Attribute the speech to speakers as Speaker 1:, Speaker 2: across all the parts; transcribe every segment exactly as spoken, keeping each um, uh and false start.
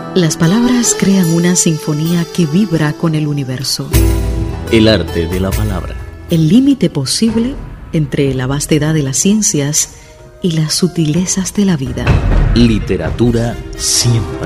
Speaker 1: Las palabras crean una sinfonía que vibra con el universo.
Speaker 2: El arte de la palabra.
Speaker 1: El límite posible entre la vastedad de las ciencias y las sutilezas de la vida.
Speaker 2: Literatura siempre.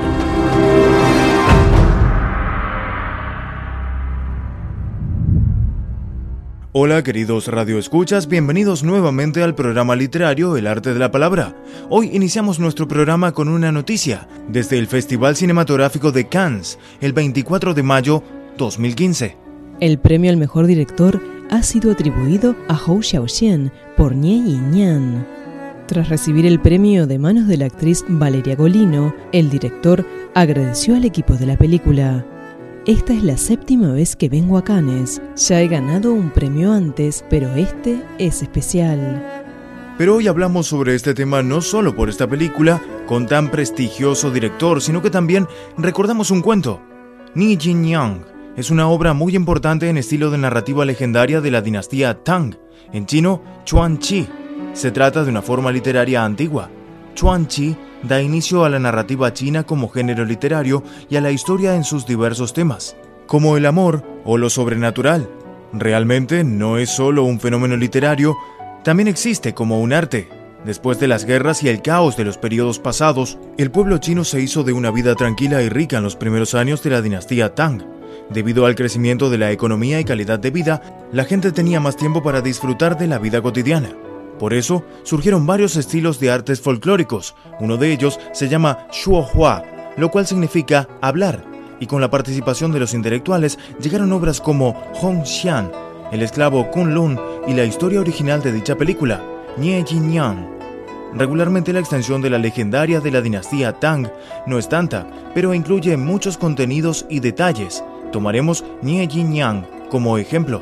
Speaker 3: Hola queridos radioescuchas, bienvenidos nuevamente al programa literario El Arte de la Palabra. Hoy iniciamos nuestro programa con una noticia desde el Festival Cinematográfico de Cannes, el veinticuatro de mayo dos mil quince.
Speaker 4: El premio al mejor director ha sido atribuido a Hou Xiaoxian por Nie y Nian. Tras recibir el premio de manos de la actriz Valeria Golino, el director agradeció al equipo de la película. Esta es la séptima vez que vengo a Cannes. Ya he ganado un premio antes, pero este es especial.
Speaker 3: Pero hoy hablamos sobre este tema no solo por esta película, con tan prestigioso director, sino que también recordamos un cuento. Ni Jin Yang es una obra muy importante en estilo de narrativa legendaria de la dinastía Tang, en chino, Chuan Qi. Se trata de una forma literaria antigua. Chuan Qi da inicio a la narrativa china como género literario y a la historia en sus diversos temas, como el amor o lo sobrenatural. Realmente no es solo un fenómeno literario, también existe como un arte. Después de las guerras y el caos de los periodos pasados, el pueblo chino se hizo de una vida tranquila y rica en los primeros años de la dinastía Tang. Debido al crecimiento de la economía y calidad de vida, la gente tenía más tiempo para disfrutar de la vida cotidiana. Por eso, surgieron varios estilos de artes folclóricos. Uno de ellos se llama Shuohua, lo cual significa hablar, y con la participación de los intelectuales llegaron obras como Hong Xian, el esclavo Kunlun y la historia original de dicha película, Nie Jin Yang. Regularmente la extensión de la legendaria de la dinastía Tang no es tanta, pero incluye muchos contenidos y detalles. Tomaremos Nie Jin Yang como ejemplo.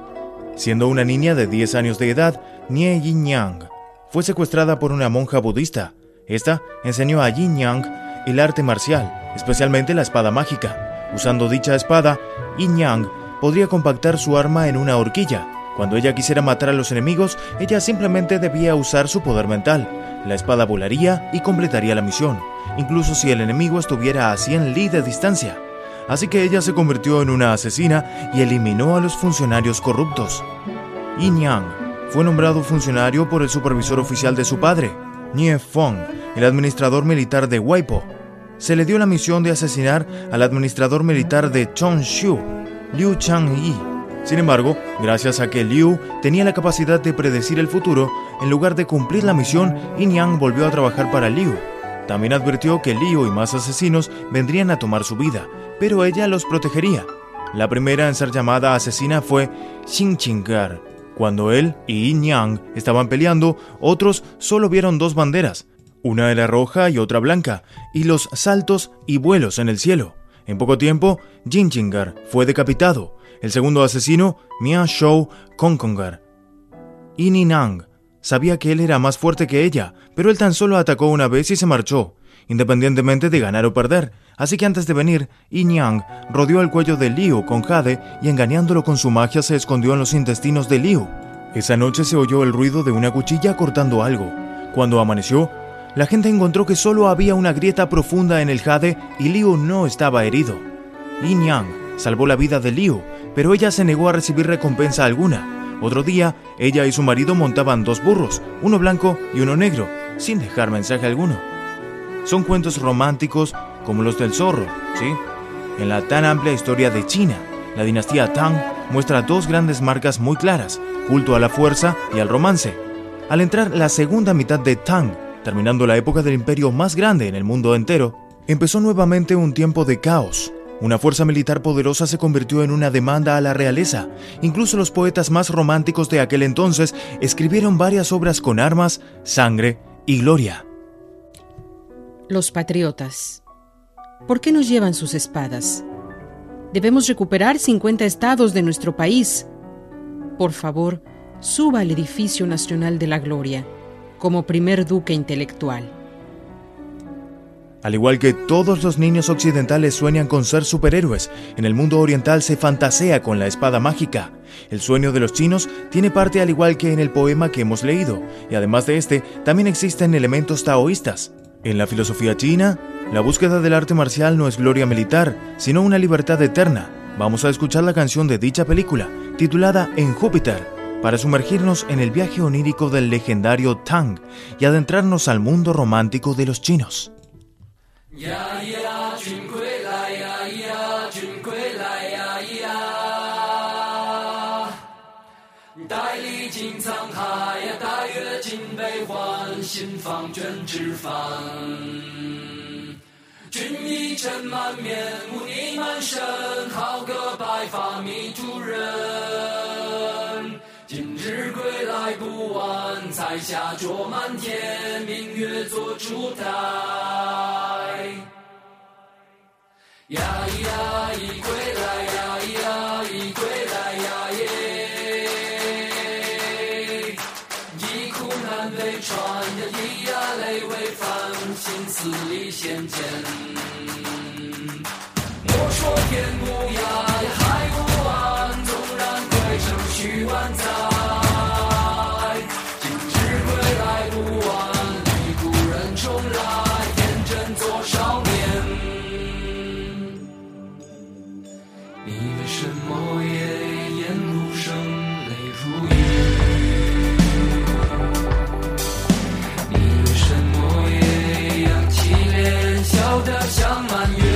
Speaker 3: Siendo una niña de diez años de edad, Nie Jin Yang fue secuestrada por una monja budista. Esta enseñó a Jin Yang el arte marcial, especialmente la espada mágica. Usando dicha espada, Jin Yang podría compactar su arma en una horquilla. Cuando ella quisiera matar a los enemigos, ella simplemente debía usar su poder mental. La espada volaría y completaría la misión, incluso si el enemigo estuviera a cien li de distancia. Así que ella se convirtió en una asesina y eliminó a los funcionarios corruptos. Yin Yang fue nombrado funcionario por el supervisor oficial de su padre, Nie Feng, el administrador militar de Weipo. Se le dio la misión de asesinar al administrador militar de Chongshu, Liu Changyi. Sin embargo, gracias a que Liu tenía la capacidad de predecir el futuro, en lugar de cumplir la misión, Yin Yang volvió a trabajar para Liu. También advirtió que Liu y más asesinos vendrían a tomar su vida, pero ella los protegería. La primera en ser llamada asesina fue Xin Qing'er. Cuando él y Yin Yang estaban peleando, otros solo vieron dos banderas. Una era roja y otra blanca, y los saltos y vuelos en el cielo. En poco tiempo, Xin Qing'er fue decapitado. El segundo asesino, Mia Shou Kongkonger. Yin Ninang sabía que él era más fuerte que ella, pero él tan solo atacó una vez y se marchó, independientemente de ganar o perder. Así que antes de venir, Yin Yang rodeó el cuello de Liu con jade y engañándolo con su magia se escondió en los intestinos de Liu. Esa noche se oyó el ruido de una cuchilla cortando algo. Cuando amaneció, la gente encontró que solo había una grieta profunda en el jade y Liu no estaba herido. Yin Yang salvó la vida de Liu, pero ella se negó a recibir recompensa alguna. Otro día, ella y su marido montaban dos burros, uno blanco y uno negro, sin dejar mensaje alguno. Son cuentos románticos como los del zorro, ¿sí? En la tan amplia historia de China, la dinastía Tang muestra dos grandes marcas muy claras, culto a la fuerza y al romance. Al entrar la segunda mitad de Tang, terminando la época del imperio más grande en el mundo entero, empezó nuevamente un tiempo de caos. Una fuerza militar poderosa se convirtió en una demanda a la realeza. Incluso los poetas más románticos de aquel entonces escribieron varias obras con armas, sangre y gloria.
Speaker 5: Los patriotas. ¿Por qué nos llevan sus espadas? Debemos recuperar cincuenta estados de nuestro país. Por favor, suba al edificio nacional de la gloria, como primer duque intelectual.
Speaker 3: Al igual que todos los niños occidentales sueñan con ser superhéroes, en el mundo oriental se fantasea con la espada mágica. El sueño de los chinos tiene parte al igual que en el poema que hemos leído, y además de este, también existen elementos taoístas. En la filosofía china, La búsqueda del arte marcial no es gloria militar, sino una libertad eterna. Vamos a escuchar la canción de dicha película, titulada En Júpiter, para sumergirnos en el viaje onírico del legendario Tang y adentrarnos al mundo romántico de los chinos.
Speaker 6: Ya, ya, Jun归来呀呀，君归来呀呀，带历经沧海呀，带阅尽悲欢，心放卷纸帆。君一尘满面，污泥满身，好个白发迷途人。今日归来不晚，彩霞灼满天，明月做烛台。呀呀，一归来呀呀，一归来呀耶，一苦难被传呀，一呀泪为繁，心思里显见。莫说天无涯呀，海无岸，纵然归程须万载。今日归来不晚，离故人重来，天真做少年。你为什么也眼如生，泪如雨？你为什么也扬起脸，笑得像满月？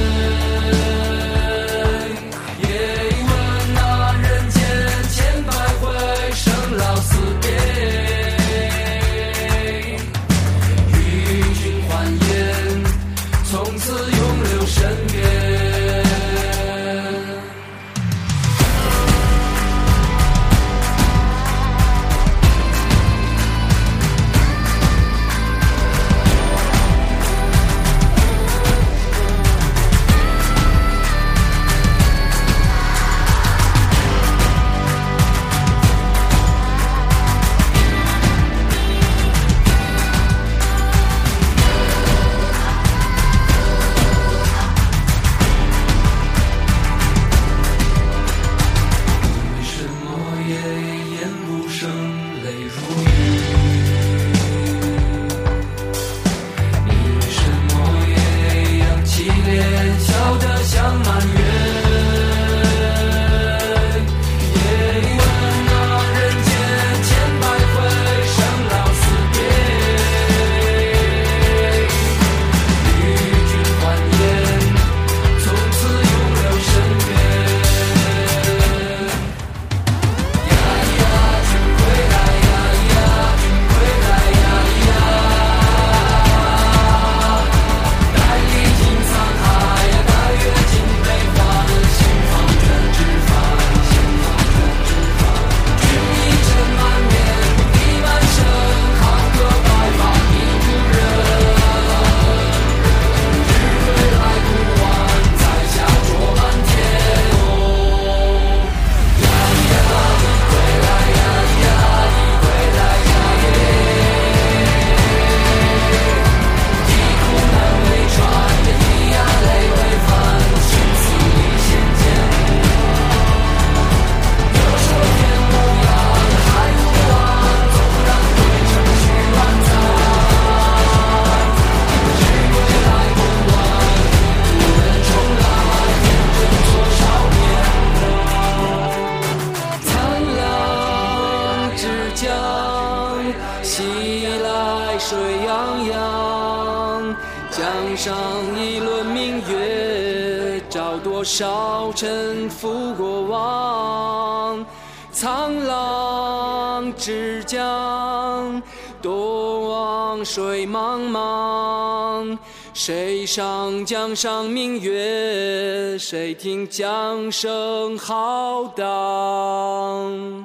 Speaker 7: 多少沉浮过往，沧浪之江，多望水茫茫。谁上江上明月，谁听江声浩荡。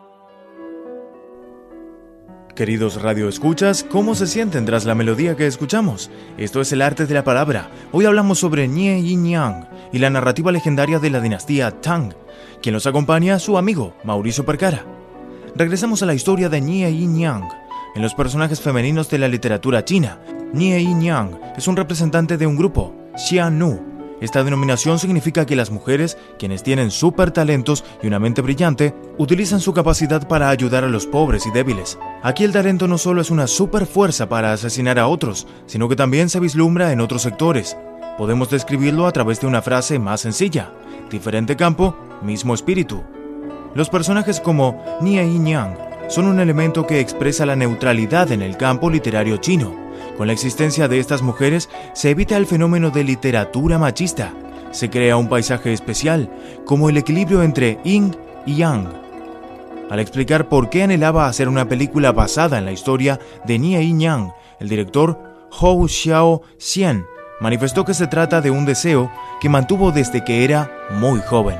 Speaker 3: Queridos radioescuchas, ¿cómo se sienten tras la melodía que escuchamos? Esto es El Arte de la Palabra. Hoy hablamos sobre Nie y Niang y la narrativa legendaria de la dinastía Tang. Quien los acompaña, su amigo, Mauricio Percara. Regresamos a la historia de Nie y Niang. En los personajes femeninos de la literatura china, Nie y Niang es un representante de un grupo, Xianu, Esta denominación significa que las mujeres, quienes tienen súper talentos y una mente brillante, utilizan su capacidad para ayudar a los pobres y débiles. Aquí el talento no solo es una super fuerza para asesinar a otros, sino que también se vislumbra en otros sectores. Podemos describirlo a través de una frase más sencilla: diferente campo, mismo espíritu. Los personajes como Nie y Nyang son un elemento que expresa la neutralidad en el campo literario chino. Con la existencia de estas mujeres se evita el fenómeno de literatura machista. Se crea un paisaje especial, como el equilibrio entre yin y yang. Al explicar por qué anhelaba hacer una película basada en la historia de Nie y Nyang, el director Hou Xiaoxian manifestó que se trata de un deseo que mantuvo desde que era muy joven.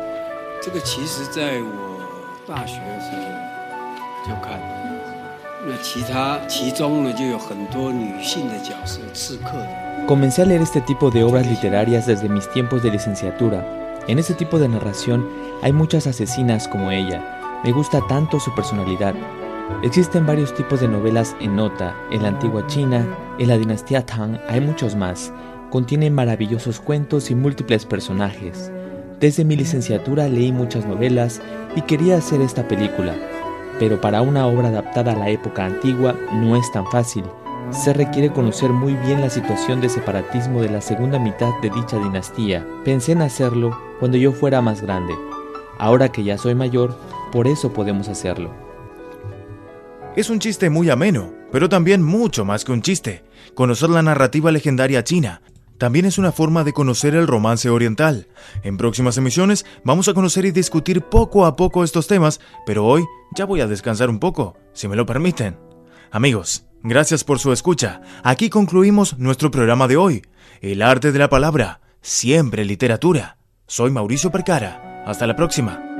Speaker 8: Comencé a leer este tipo de obras literarias desde mis tiempos de licenciatura. En este tipo de narración hay muchas asesinas como ella. Me gusta tanto su personalidad. Existen varios tipos de novelas en nota. En la antigua China, en la dinastía Tang, hay muchos más. Contienen maravillosos cuentos y múltiples personajes. Desde mi licenciatura leí muchas novelas y quería hacer esta película. Pero para una obra adaptada a la época antigua no es tan fácil. Se requiere conocer muy bien la situación de separatismo de la segunda mitad de dicha dinastía. Pensé en hacerlo cuando yo fuera más grande. Ahora que ya soy mayor, por eso podemos hacerlo.
Speaker 3: Es un chiste muy ameno, pero también mucho más que un chiste. Conocer la narrativa legendaria china también es una forma de conocer el romance oriental. En próximas emisiones vamos a conocer y discutir poco a poco estos temas, pero hoy ya voy a descansar un poco, si me lo permiten. Amigos, gracias por su escucha. Aquí concluimos nuestro programa de hoy. El arte de la palabra, siempre literatura. Soy Mauricio Percara. Hasta la próxima.